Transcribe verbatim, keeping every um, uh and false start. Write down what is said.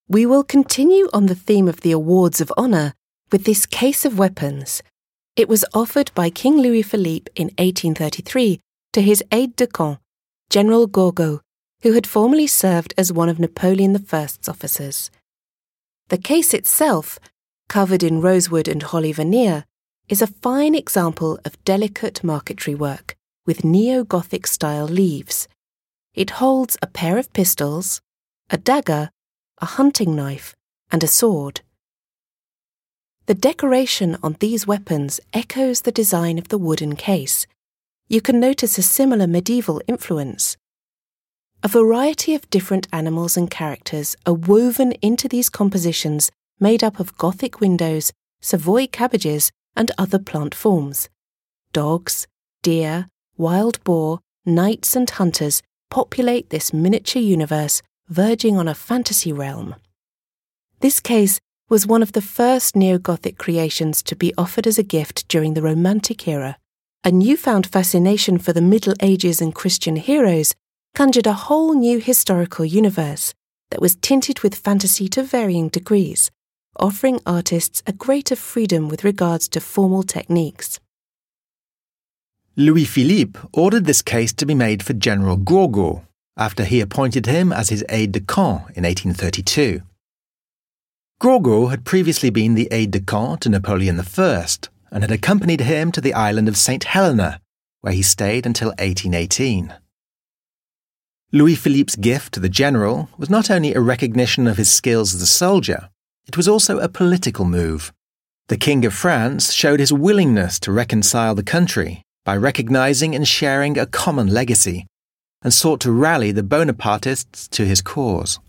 We will continue on the theme of the awards of honour with this case of weapons. It was offered by King Louis-Philippe in eighteen thirty-three to his aide-de-camp, General Gourgaud, who had formerly served as one of Napoleon the First's officers. The case itself, covered in rosewood and holly veneer, is a fine example of delicate marquetry work with neo-Gothic style leaves. It holds a pair of pistols, a dagger, a hunting knife, and a sword. The decoration on these weapons echoes the design of the wooden case. You can notice a similar medieval influence. A variety of different animals and characters are woven into these compositions made up of Gothic windows, Savoy cabbages, and other plant forms. Dogs, deer, wild boar, knights and hunters populate this miniature universe verging on a fantasy realm. This case was one of the first neo-Gothic creations to be offered as a gift during the Romantic era. A newfound fascination for the Middle Ages and Christian heroes conjured a whole new historical universe that was tinted with fantasy to varying degrees, offering artists a greater freedom with regards to formal techniques. Louis-Philippe ordered this case to be made for General Gourgaud after he appointed him as his aide-de-camp in eighteen thirty-two. Gourgaud had previously been the aide-de-camp to Napoleon the First and had accompanied him to the island of Saint Helena, where he stayed until eighteen eighteen. Louis-Philippe's gift to the general was not only a recognition of his skills as a soldier, it was also a political move. The King of France showed his willingness to reconcile the country by recognizing and sharing a common legacy, and sought to rally the Bonapartists to his cause.